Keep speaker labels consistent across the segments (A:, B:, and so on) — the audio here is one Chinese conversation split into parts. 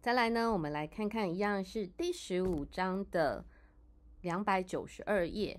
A: 再来呢，我们来看看一样是第15章的292页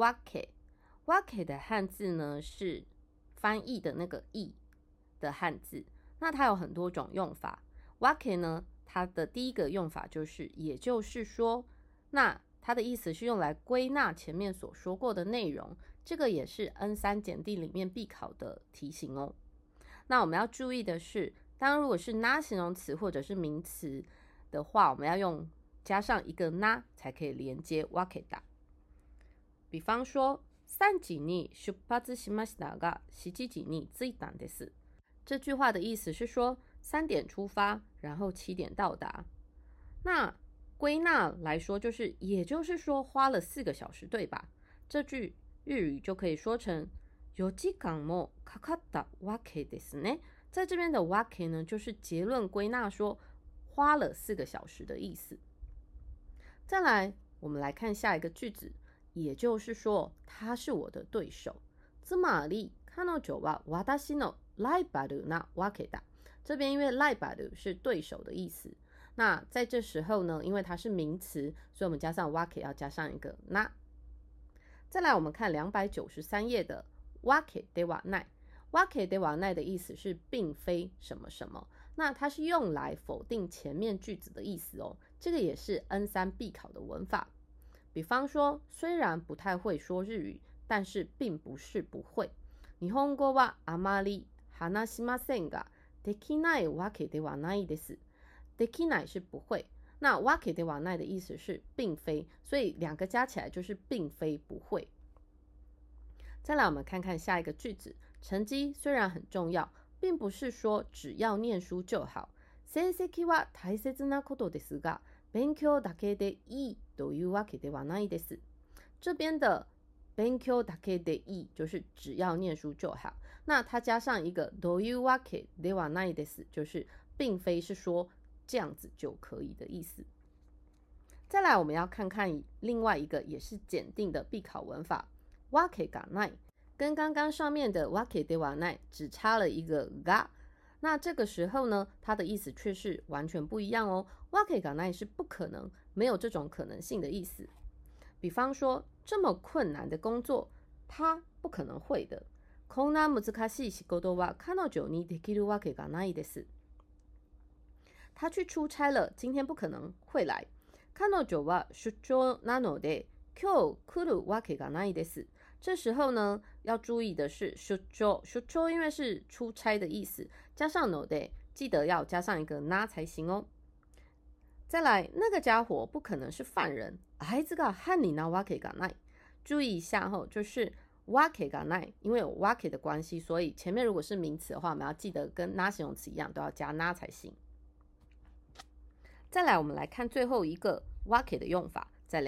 A: wake 的汉字呢是翻译的那个译的汉字，那它有很多种用法。wake 呢，它的第一个用法就是也就是说，那它的意思是用来归纳前面所说过的内容，这个也是 N3 检定里面必考的题型哦。那我们要注意的是，当如果是那形容词或者是名词的话，我们要用加上一个那才可以连接 wake だ。比方说3時に出発しましたが7時に着いたんです。这句话的意思是说3点出发，然后7点到達。那归纳来说就是也就是说花了4个小时，对吧？这句日语就可以说成4時間もかかったわけですね。在这边的 wake 呢，就是结论归纳说花了4个小时的意思。再来，我们来看下一个句子，也就是说他是我的对手。つまり彼女は私のライバルなわけだ。这边因为ライバル是对手的意思，那在这时候呢，因为它是名词，所以我们加上 wake 要加上一个な。再来我们看293页的 wake ではない。wake ではない的意思是并非什么什么，那它是用来否定前面句子的意思哦。这个也是 N3 必考的文法。比方说，虽然不太会说日语，但是并不是不会。日本語はあまり話しませんが、できないわけではないです。できない是不会，那わけではない的意思是并非，所以两个加起来就是并非不会。再来我们看看下一个句子，成绩虽然很重要，并不是说只要念书就好。成績は大切なことですが、勉強だけでいいというわけではないです。这边的勉強だけでいい就是只要念书就好，那它加上一个というわけではないです，就是并非是说这样子就可以的意思。再来我们要看看另外一个也是检定的必考文法わけがない，跟刚刚上面的わけではない只差了一个が，那这个时候呢，它的意思却是完全不一样哦。わけがない是不可能，没有这种可能性的意思。比方说，这么困难的工作，他不可能会的。こんな難しい仕事は彼女にできるわけがないです。他去出差了，今天不可能会来。彼女は出張なので、今日来るわけがないです。这时候呢，要注意的是出張因为是出差的意思，加上ので，记得要加上一个な才行哦。再来，那个家伙不可能是犯人。あいつが犯人なわけがない。注意一下吼，就是わけがない，因为有わけ的关系，所以前面如果是名词的话，我们要记得跟な形容词一样，都要加な才行。再来，我们来看最后一个わけ的用法，在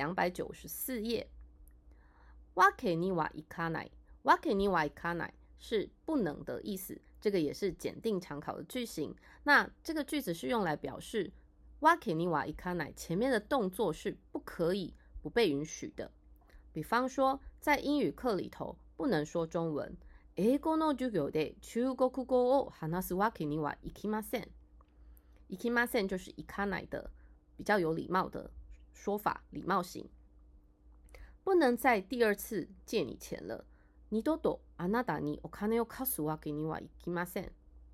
A: 294页。わけにはいかない，わけにはいかない是不能的意思，这个也是检定常考的句型。那这个句子是用来表示わけにはいかない前面的动作是不可以、不被允许的。比方说，在英语课里头不能说中文。英語の授業で中国語を話すわけにはいきません。いきません就是いかない的比较有礼貌的说法，礼貌型。不能再第二次借你钱了。二度とあなたにお金を貸すわけにはいきません。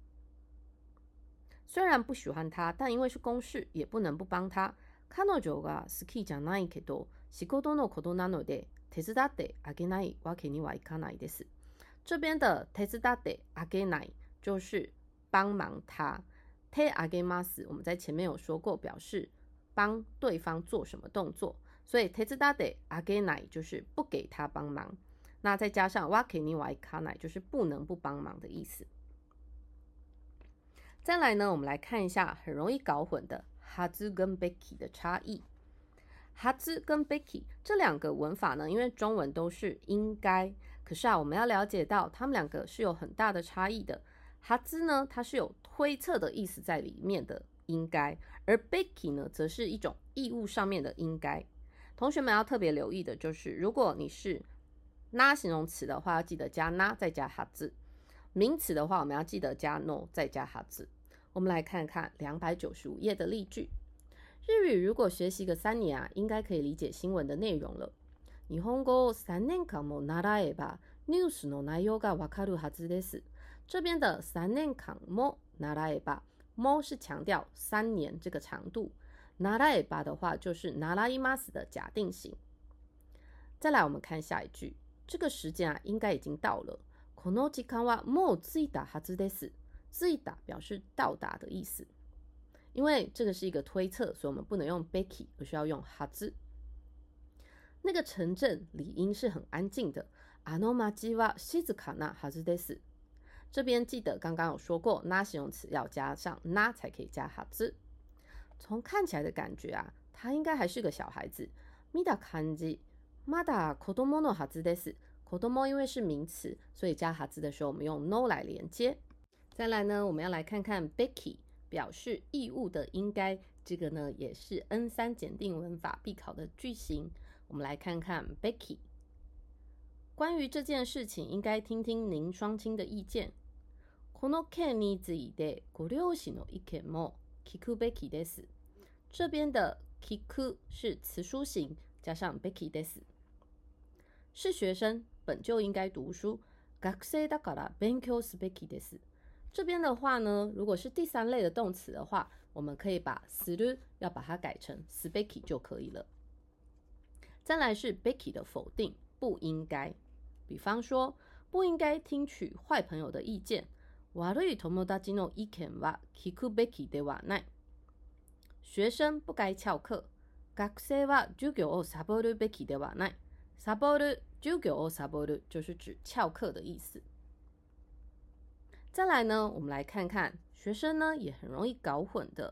A: 虽然不喜欢他，但因为是公事，也不能不帮他。彼女が好きじゃないけど、仕事のことなので手伝ってあげないわけにはいかないです。这边的手伝ってあげない就是帮忙他。手あげます，我们在前面有说过，表示帮对方做什么动作，所以手伝ってあげない就是不给他帮忙。那再加上わけにはいかない就是不能不帮忙的意思。再来呢，我们来看一下很容易搞混的はず跟べき的差异。はず跟べき这两个文法呢，因为中文都是应该，可是我们要了解到它们两个是有很大的差异的。はず呢，它是有推测的意思在里面的应该，而べき呢，则是一种义务上面的应该。同学们要特别留意的就是，如果你是な形容词的话，要记得加な再加はず；名词的话，我们要记得加no再加はず。 我们来看看295页的例句。日语如果学习个3年啊，应该可以理解新闻的内容了。日本語を3年間も習えばニュースの内容がわかるはずです。这边的3年間も習えば，も是强调3年这个长度，習えば的話就是習います的假定型。再来我们看下一句，这个时间啊应该已经到了。この時間はもう着いたはずです。着いた表示到達的意思。因为这个是一个推测，所以我们不能用 Becky， 而需要用はず。那个城镇理应是很安静的。あの町は静かなはずです。这边记得刚刚有说过，那形容词要加上那才可以加はず。从看起来的感觉啊，他应该还是个小孩子。見た感じ、まだ子供のはずです。子供因为是名词，所以加はず的时候，我们用 no 来连接。再来呢，我们要来看看 Becky。表示义务的应该，这个呢也是 N3 检定文法必考的句型。我们来看看 Becky。关于这件事情，应该听听您双亲的意见。この件についてご両親の意見も聞くべきです。这边的聞く是词书形，加上べきです。是学生，本就应该读书。学生だから勉強すべきです。这边的话呢，如果是第3类的动词的话，我们可以把する要把它改成すべき就可以了。再来是べき的否定，不应该。比方说，不应该听取坏朋友的意见。悪い友達の意見は聞くべきではない。学生不该翘課。学生は授業をサボるべきではない。サボる、授業をサボる就是指翘課的意思。再来呢，我们来看看学生呢也很容易搞混的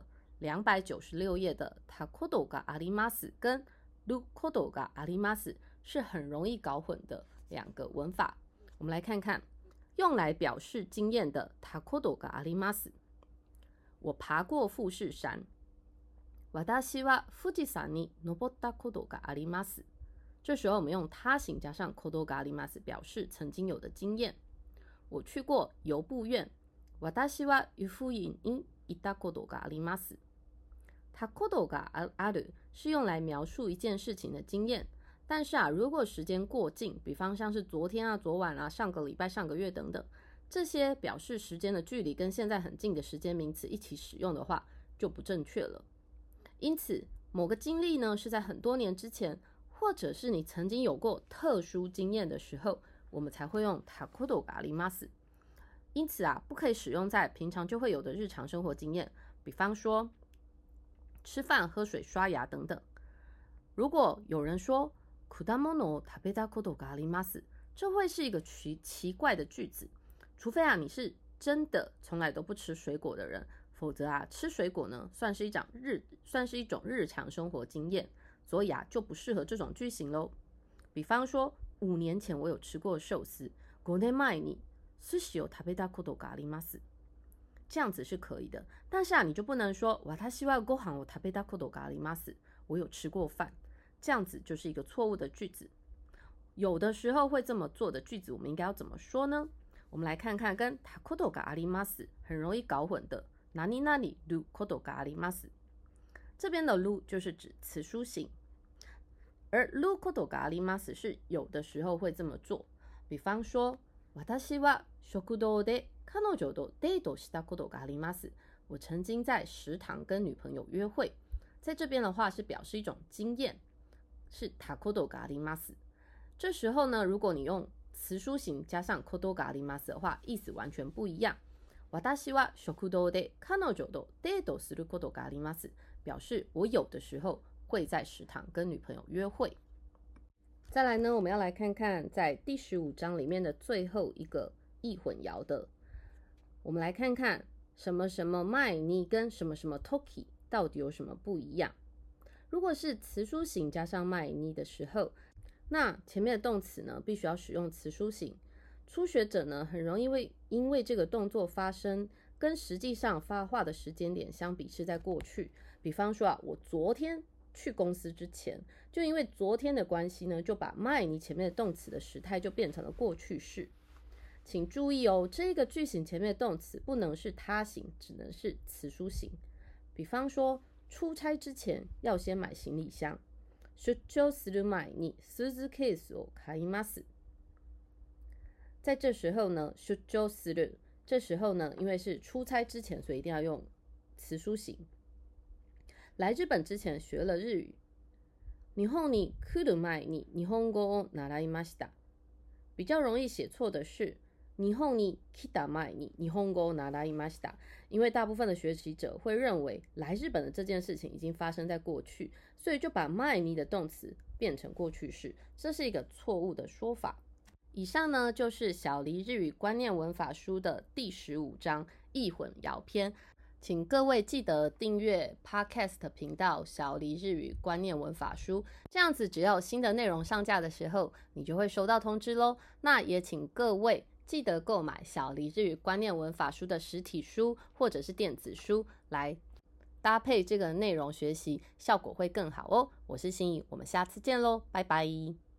A: 296页的たことがあります跟ることがあります是很容易搞混的2个文法。我们来看看用来表示经验的たことがあります。我爬过富士山。私は富士山に登ったことがあります。这时候我们用他形加上ことがあります表示曾经有的经验。我去过游步院。私は湯布院に行ったことがあります。たことがある是用来描述一件事情的经验，但是啊，如果时间过近，比方像是昨天啊、昨晚啊、上个礼拜、上个月等等，这些表示时间的距离跟现在很近的时间名词一起使用的话，就不正确了。因此，某个经历呢是在很多年之前，或者是你曾经有过特殊经验的时候，我们才会用たことがあります。因此啊，不可以使用在平常就会有的日常生活经验，比方说吃饭、喝水、刷牙等等。如果有人说果物を食べたことがあります，这会是一个奇怪的句子，除非啊你是真的从来都不吃水果的人，否则啊吃水果呢算是一种日常生活经验，所以啊就不适合这种句型咯。比方说5年前我有吃过寿司。5年前に寿司を食べたことがあります。这样子是可以的，但是啊，你就不能说私はご飯を食べたことがあります。我有吃过饭，这样子就是一个错误的句子。有的时候会这么做的句子，我们应该要怎么说呢？我们来看看跟たことがあります很容易搞混的何々ることがあります。这边的る就是指词书形，而ることがあります是有的时候会这么做。比方说，私は食堂で彼女とデートしたことがあります。我曾经在食堂跟女朋友约会。在这边的话是表示一种经验，是たことがあります。这时候呢，如果你用词书形加上ことがあります的话，意思完全不一样。私は食堂で彼女とデートすることがあります，表示我有的时候会在食堂跟女朋友约会。再来呢，我们要来看看在第15章里面的最后一个易混淆的。我们来看看什么什么前に跟什么什么時到底有什么不一样。如果是词书形加上前に的时候，那前面的动词呢必须要使用词书形。初学者呢很容易因为这个动作发生跟实际上发话的时间点相比是在过去。比方说啊，我昨天去公司之前，就因为昨天的关系呢，就把前に前面的动词的时态就变成了过去式。 请注意哦，这个句型前面的动词不能是他形，只能是词书形。比方说，出差之前要先買行李箱。出張する前にスーツケースを買います。在这时候呢，出張する，这时候呢，因为是出差之前，所以一定要用词书形。来日本之前学了日语。日本に来る前に日本語を習いました。比较容易写错的是日本に来た前に日本語を習いました，因为大部分的学习者会认为来日本的这件事情已经发生在过去，所以就把前に的动词变成过去式，这是一个错误的说法。以上呢就是小黎日语观念文法书的第15章易混淆篇，请各位记得订阅 Podcast 频道小黎日语观念文法书，这样子只要有新的内容上架的时候，你就会收到通知咯。那也请各位记得购买小黎日语观念文法书的实体书或者是电子书，来搭配这个内容学习，效果会更好哦。我是心怡，我们下次见咯，拜拜。